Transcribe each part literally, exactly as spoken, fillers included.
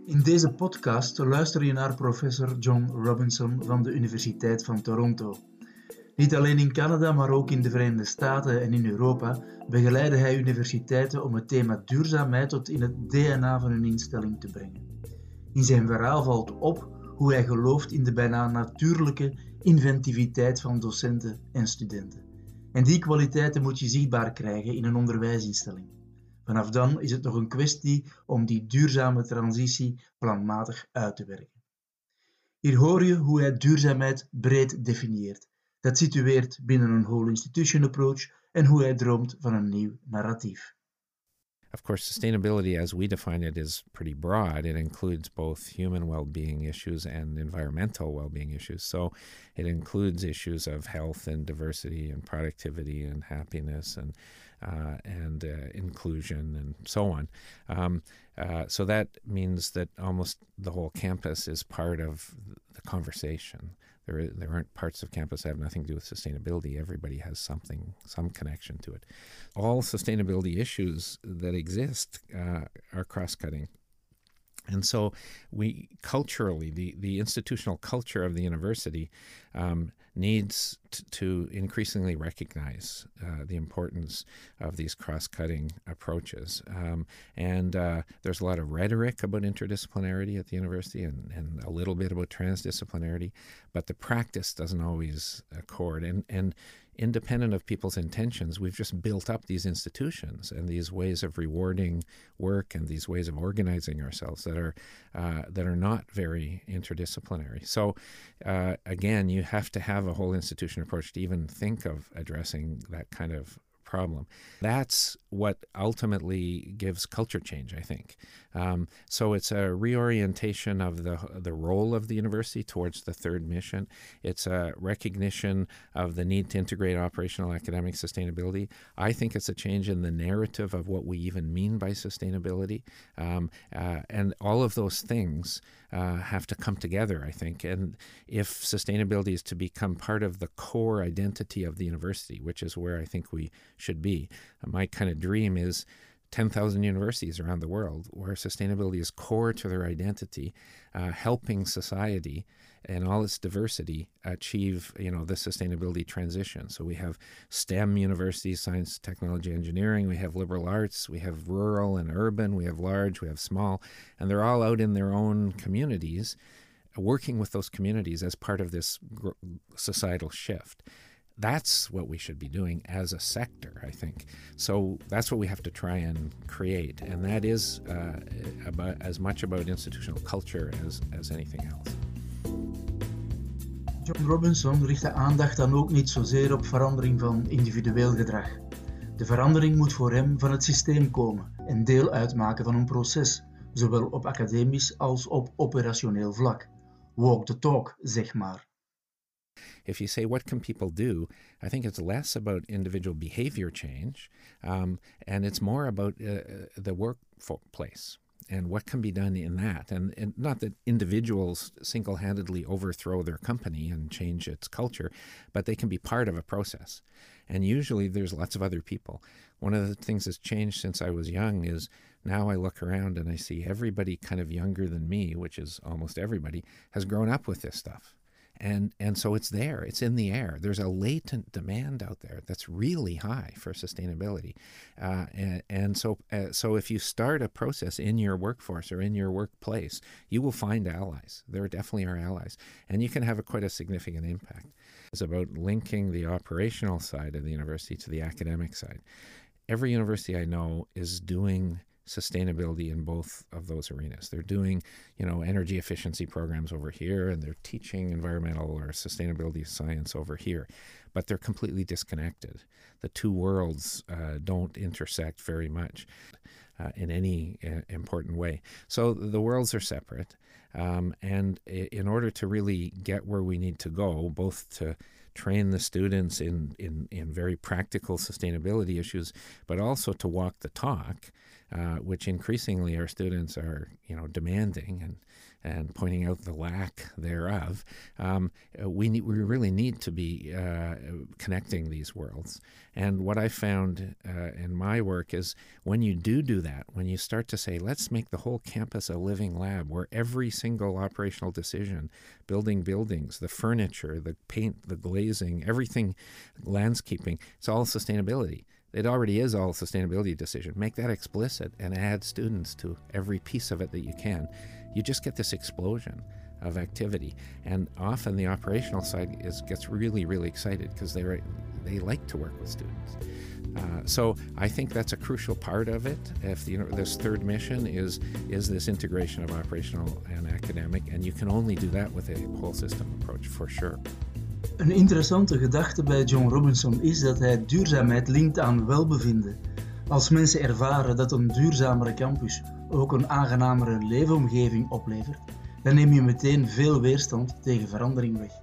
In deze podcast luister je naar professor John Robinson van de Universiteit van Toronto. Niet alleen in Canada, maar ook in de Verenigde Staten en in Europa begeleidde hij universiteiten om het thema duurzaamheid tot in het D N A van hun instelling te brengen. In zijn verhaal valt op hoe hij gelooft in de bijna natuurlijke inventiviteit van docenten en studenten. En die kwaliteiten moet je zichtbaar krijgen in een onderwijsinstelling. Vanaf dan is het nog een kwestie om die duurzame transitie planmatig uit te werken. Hier hoor je hoe hij duurzaamheid breed definieert. Dat situeert binnen een whole institution approach en hoe hij droomt van een nieuw narratief. Of course, sustainability as we define it is pretty broad. It includes both human well-being issues and environmental well-being issues. So it includes issues of health and diversity and productivity and happiness and uh, and uh, inclusion and so on. Um, uh, so that means that almost the whole campus is part of the conversation. There, there aren't parts of campus that have nothing to do with sustainability. Everybody has something, some connection to it. All sustainability issues that exist uh, are cross-cutting. And so we culturally, the, the institutional culture of the university um, needs t- to increasingly recognize uh, the importance of these cross-cutting approaches. Um, and uh, there's a lot of rhetoric about interdisciplinarity at the university and, and a little bit about transdisciplinarity, but the practice doesn't always accord. And, and independent of people's intentions, we've just built up these institutions and these ways of rewarding work and these ways of organizing ourselves that are uh, that are not very interdisciplinary. So uh, again, you have to have a whole institution approach to even think of addressing that kind of problem. That's what ultimately gives culture change, I think. Um, so it's a reorientation of the the role of the university towards the third mission. It's a recognition of the need to integrate operational academic sustainability. I think it's a change in the narrative of what we even mean by sustainability. Um, uh, and all of those things uh, have to come together, I think. And if sustainability is to become part of the core identity of the university, which is where I think we should be. My kind of dream is ten thousand universities around the world where sustainability is core to their identity, uh, helping society and all its diversity achieve, you know, the sustainability transition. So we have STEM universities, science, technology, engineering. We have liberal arts. We have rural and urban. We have large. We have small. And they're all out in their own communities, working with those communities as part of this societal shift. That's what we should be doing as a sector, I think. So that's what we have to try and create. And that is uh, about, as much about institutional culture as, as anything else. John Robinson richt de aandacht dan ook niet zozeer op verandering van individueel gedrag. De verandering moet voor hem van het systeem komen en deel uitmaken van een proces, zowel op academisch als op operationeel vlak. Walk the talk, zeg maar. If you say, what can people do? I think it's less about individual behavior change, um, and it's more about uh, the workplace and what can be done in that. And, and not that individuals single-handedly overthrow their company and change its culture, but they can be part of a process. And usually there's lots of other people. One of the things that's changed since I was young is now I look around and I see everybody kind of younger than me, which is almost everybody, has grown up with this stuff. And and so it's there, it's in the air. There's a latent demand out there that's really high for sustainability. Uh, and, and so uh, so if you start a process in your workforce or in your workplace, you will find allies. There definitely are allies. And you can have a, quite a significant impact. It's about linking the operational side of the university to the academic side. Every university I know is doing sustainability in both of those arenas. They're doing, you know, energy efficiency programs over here, and they're teaching environmental or sustainability science over here, but they're completely disconnected. The two worlds uh, don't intersect very much uh, in any uh, important way. So the worlds are separate, um, and in order to really get where we need to go, both to train the students in, in, in very practical sustainability issues, but also to walk the talk, uh, which increasingly our students are, you know, demanding and and pointing out the lack thereof. Um, we need, we really need to be uh, connecting these worlds. And what I found uh, in my work is when you do do that, when you start to say, let's make the whole campus a living lab where every single operational decision, building buildings, the furniture, the paint, the glazing, everything, landscaping, it's all sustainability. It already is all sustainability decision. Make that explicit and add students to every piece of it that you can. You just get this explosion of activity. And often the operational side is gets really, really excited because they they like to work with students. Uh, so I think that's a crucial part of it. If the, you know, this third mission is is this integration of operational and academic, and you can only do that with a whole system approach for sure. Een interessante gedachte bij John Robinson is dat hij duurzaamheid linkt aan welbevinden. Als mensen ervaren dat een duurzamere campus ook een aangenamere leefomgeving oplevert, dan neem je meteen veel weerstand tegen verandering weg.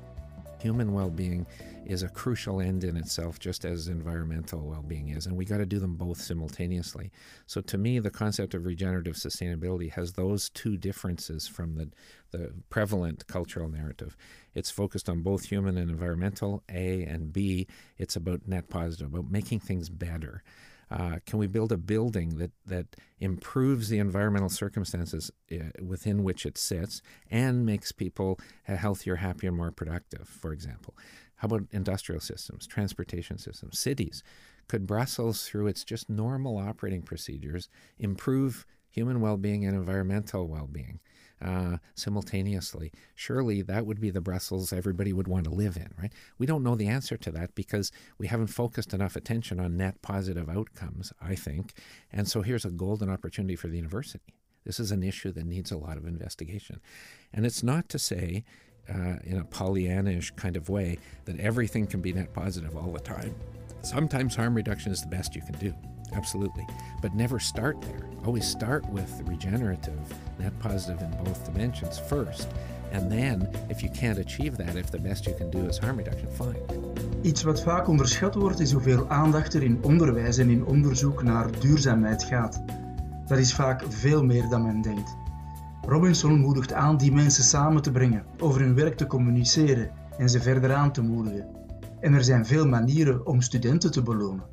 Human well-being is a crucial end in itself, just as environmental well-being is, and we got to do them both simultaneously. So to me, the concept of regenerative sustainability has those two differences from the, the prevalent cultural narrative. It's focused on both human and environmental, A, and B, it's about net positive, about making things better. Uh, can we build a building that, that improves the environmental circumstances uh, within which it sits and makes people healthier, happier, and more productive, for example? How about industrial systems, transportation systems, cities? Could Brussels, through its just normal operating procedures, improve human well-being and environmental well-being uh, simultaneously? Surely that would be the Brussels everybody would want to live in, right? We don't know the answer to that because we haven't focused enough attention on net positive outcomes, I think. And so here's a golden opportunity for the university. This is an issue that needs a lot of investigation. And it's not to say, uh, in a Pollyannish kind of way, that everything can be net positive all the time. Sometimes harm reduction is the best you can do. Absolutely. But never start there. Always start with regenerative, net positive in both dimensions first. And then, if you can't achieve that, if the best you can do is harm reduction, fine. Iets wat vaak onderschat wordt is hoeveel aandacht er in onderwijs en in onderzoek naar duurzaamheid gaat. Dat is vaak veel meer dan men denkt. Robinson moedigt aan die mensen samen te brengen, over hun werk te communiceren en ze verder aan te moedigen. En er zijn veel manieren om studenten te belonen.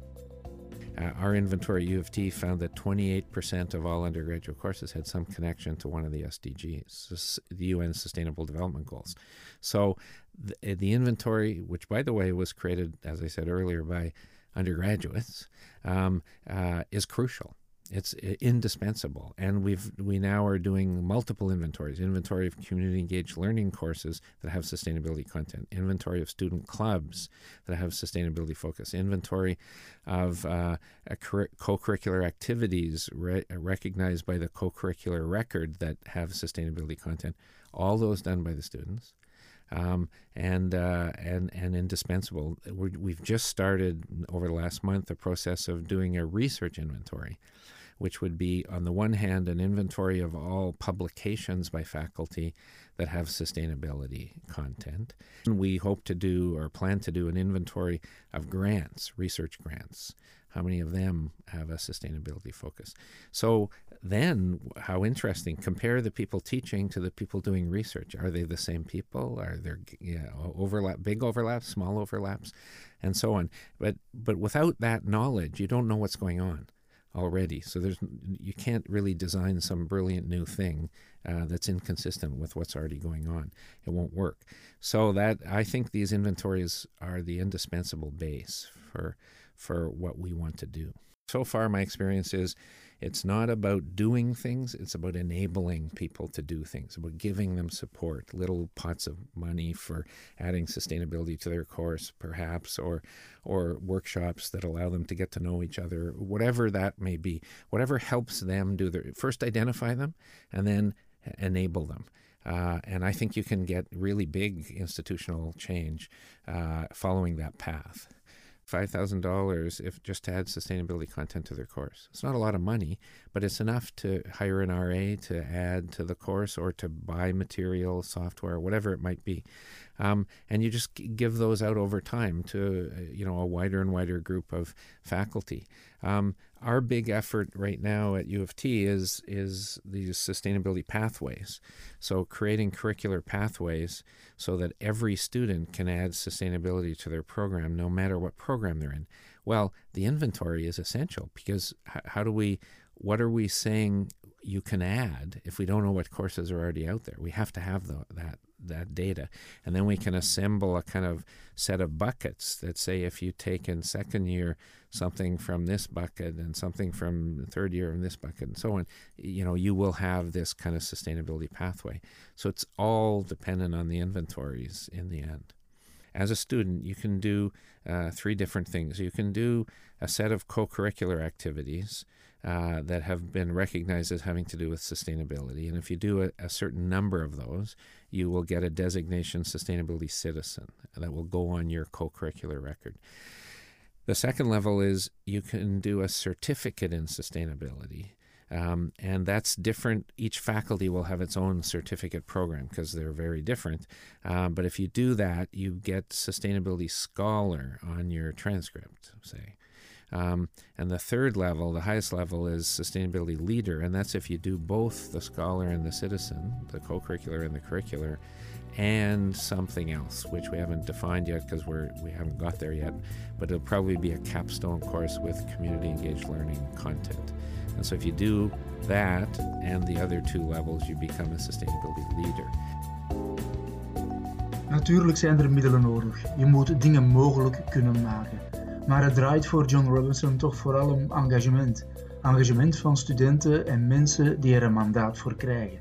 Uh, our inventory at U of T found that twenty-eight percent of all undergraduate courses had some connection to one of the S D Gs, the U N Sustainable Development Goals. So the, the inventory, which by the way was created, as I said earlier, by undergraduates, um, uh, is crucial. It's indispensable, and we've we now are doing multiple inventories: inventory of community-engaged learning courses that have sustainability content, inventory of student clubs that have sustainability focus, inventory of uh, co-curricular activities re- recognized by the co-curricular record that have sustainability content. All those done by the students. Um, and, uh, and and indispensable. We're, we've just started over the last month the process of doing a research inventory, which would be, on the one hand, an inventory of all publications by faculty that have sustainability content. And we hope to do, or plan to do, an inventory of grants, research grants. How many of them have a sustainability focus? So then, how interesting, compare the people teaching to the people doing research. Are they the same people? Are there yeah, overlap, big overlaps, small overlaps, and so on? But but without that knowledge, you don't know what's going on already. So there's you can't really design some brilliant new thing uh, that's inconsistent with what's already going on. It won't work. So that I think these inventories are the indispensable base for for what we want to do. So far, my experience is it's not about doing things, it's about enabling people to do things, about giving them support, little pots of money for adding sustainability to their course, perhaps, or or workshops that allow them to get to know each other, whatever that may be, whatever helps them do their, first identify them and then enable them. Uh, and I think you can get really big institutional change uh, following that path. five thousand dollars if just to add sustainability content to their course. It's not a lot of money, but it's enough to hire an R A to add to the course or to buy material, software, whatever it might be. Um, and you just give those out over time to, you know, a wider and wider group of faculty. Um, our big effort right now at U of T is is these sustainability pathways. So creating curricular pathways so that every student can add sustainability to their program, no matter what program they're in. Well, the inventory is essential because h- how do we, what are we saying you can add if we don't know what courses are already out there? We have to have the, that that data. And then we can assemble a kind of set of buckets that say if you take in second year something from this bucket and something from third year in this bucket and so on, you know, you will have this kind of sustainability pathway. So it's all dependent on the inventories in the end. As a student, you can do uh, three different things. You can do a set of co-curricular activities uh, that have been recognized as having to do with sustainability. And if you do a, a certain number of those, you will get a designation sustainability citizen that will go on your co-curricular record. The second level is you can do a certificate in sustainability. Um, and that's different. Each faculty will have its own certificate program because they're very different. Um, but if you do that, you get Sustainability Scholar on your transcript, say. Um, and the third level, the highest level, is Sustainability Leader, and that's if you do both the Scholar and the Citizen, the co-curricular and the curricular, and something else, which we haven't defined yet because we're we haven't got there yet. But it'll probably be a capstone course with community-engaged learning content. And so if you do that and the other two levels, you become a sustainability leader. Natuurlijk zijn er middelen nodig. Je moet dingen mogelijk kunnen maken. Maar het draait voor John Robinson toch vooral om engagement. Engagement van studenten en mensen die er een mandaat voor krijgen.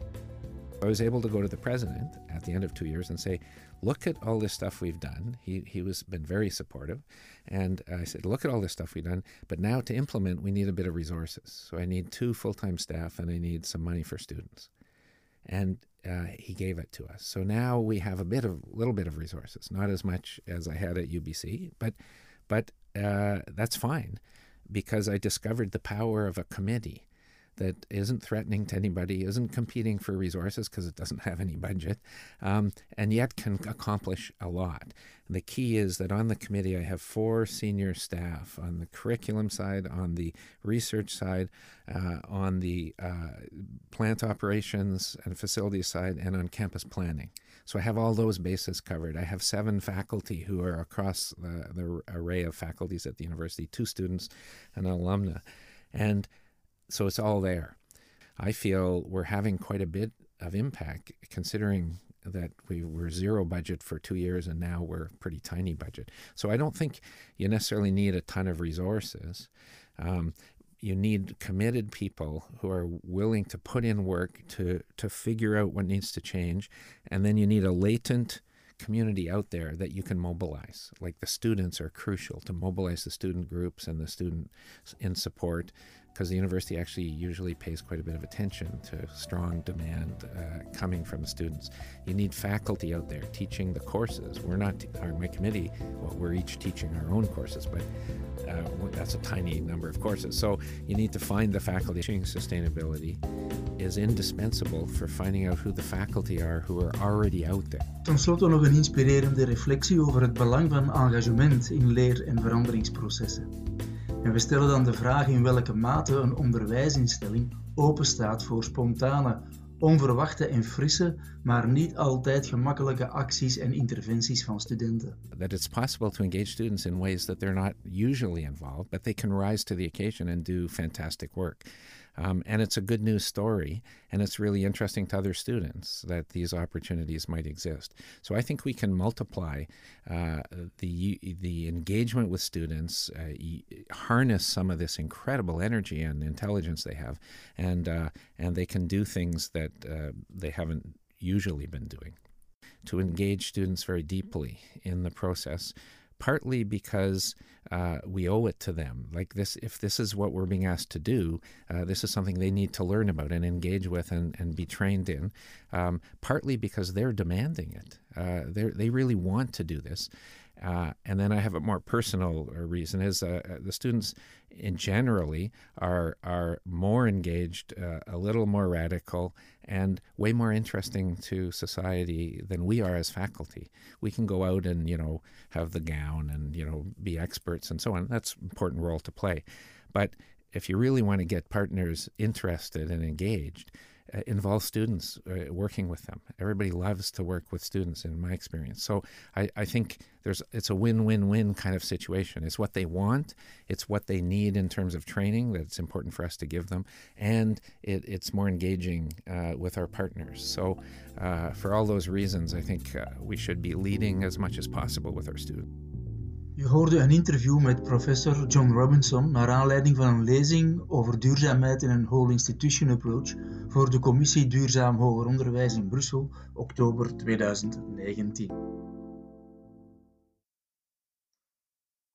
I was able to go to the president at the end of two years and say, look at all this stuff we've done. He he was been very supportive. And I said, look at all this stuff we've done, but now to implement, we need a bit of resources. So I need two full-time staff and I need some money for students. And uh, he gave it to us. So now we have a bit of, little bit of resources, not as much as I had at U B C, but, but uh, that's fine because I discovered the power of a committee that isn't threatening to anybody, isn't competing for resources because it doesn't have any budget, um, and yet can accomplish a lot. And the key is that on the committee, I have four senior staff on the curriculum side, on the research side, uh, on the uh, plant operations and facilities side, and on campus planning. So I have all those bases covered. I have seven faculty who are across the, the array of faculties at the university, two students and an alumna. And so it's all there. I feel we're having quite a bit of impact considering that we were zero budget for two years and now we're pretty tiny budget. So I don't think you necessarily need a ton of resources. Um, you need committed people who are willing to put in work to, to figure out what needs to change. And then you need a latent community out there that you can mobilize. Like the students are crucial to mobilize the student groups and the students in support, because the university actually usually pays quite a bit of attention to strong demand uh, coming from the students. You need faculty out there teaching the courses. We're not, our, my committee, well, we're each teaching our own courses, but uh, that's a tiny number of courses. So you need to find the faculty. Teaching sustainability is indispensable for finding out who the faculty are who are already out there. Ten slotte nog een inspirerende reflectie over het belang van engagement in leer- en veranderingsprocessen. En we stellen dan de vraag in welke mate een onderwijsinstelling openstaat voor spontane, onverwachte en frisse, maar niet altijd gemakkelijke acties en interventies van studenten. That it's possible to engage students in ways that they're not usually involved, but they can rise to the occasion and do fantastic work. Um, and it's a good news story, and it's really interesting to other students that these opportunities might exist. So I think we can multiply uh, the the engagement with students, uh, harness some of this incredible energy and intelligence they have, and uh, and they can do things that uh, they haven't usually been doing. To engage students very deeply in the process, partly because uh, we owe it to them. Like this, if this is what we're being asked to do, uh, this is something they need to learn about and engage with and, and be trained in. Um, partly because they're demanding it. Uh, they they really want to do this. Uh, and then I have a more personal reason is uh, the students in generally are are more engaged, uh, a little more radical, and way more interesting to society than we are as faculty. We can go out and, you know, have the gown and, you know, be experts and so on. That's an important role to play. But if you really want to get partners interested and engaged, uh, involve students uh, working with them. Everybody loves to work with students, in my experience. So I, I think there's it's a win-win-win kind of situation. It's what they want, it's what they need in terms of training that's important for us to give them, and it, it's more engaging uh, with our partners. So uh, for all those reasons, I think uh, we should be leading as much as possible with our students. Je hoorde een interview met professor John Robinson naar aanleiding van een lezing over duurzaamheid in een whole institution approach voor de Commissie Duurzaam Hoger Onderwijs in Brussel, oktober tweeduizend negentien.